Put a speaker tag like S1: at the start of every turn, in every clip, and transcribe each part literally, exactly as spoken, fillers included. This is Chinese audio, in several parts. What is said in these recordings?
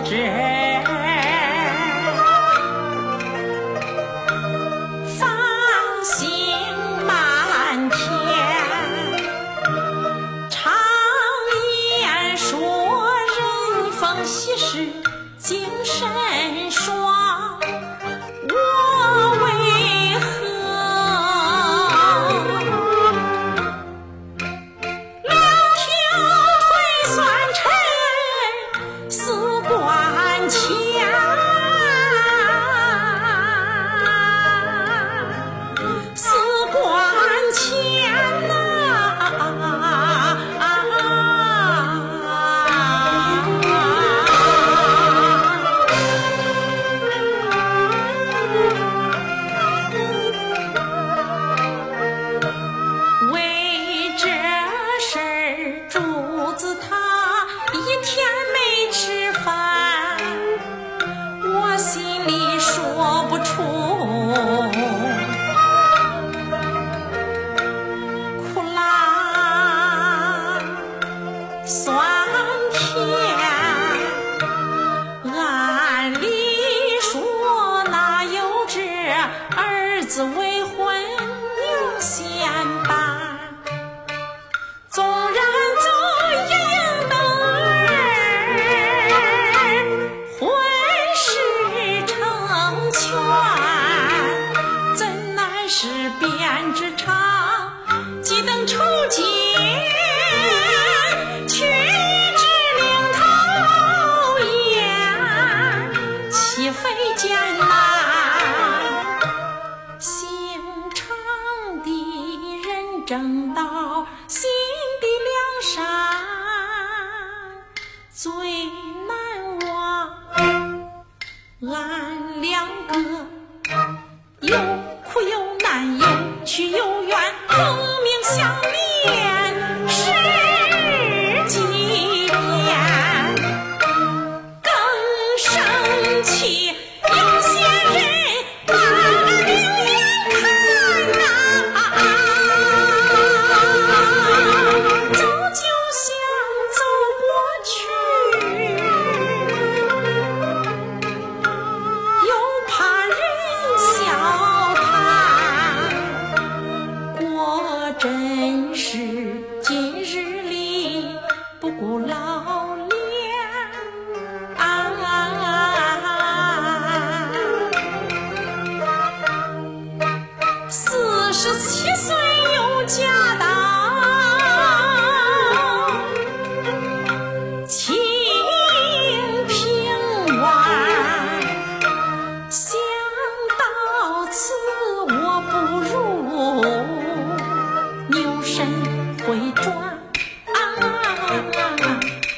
S1: 知，芳心满天。常言说，人逢喜事精神爽，我为何两条腿酸沉似关前，似关前呐、为这事儿，主子他一天没吃饭，我心里说不出，苦辣酸甜。按理说哪有这儿子未婚娘先伴，纵然走应得儿婚事成全，怎奈是编织长，几等抽筋，却只领头雁，岂非艰难？心肠的人正道，心的良善最难忘。俺两个有苦有难，有屈有怨，同命相连十几年。更生气，有些人把俺另眼看呐、走就想走过去，又怕人笑谈，果真是今日里不顾老脸啊。四十七岁有家当，清平湾，想到此我不如牛身回转啊。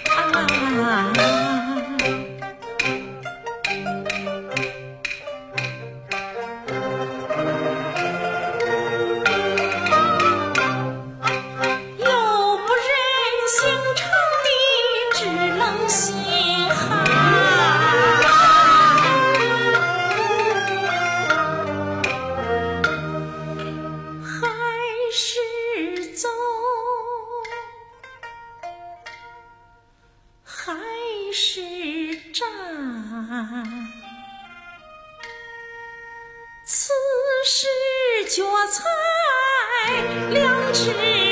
S1: 又不忍心肠的只冷心寒，还是走，还是站，此时脚踩两只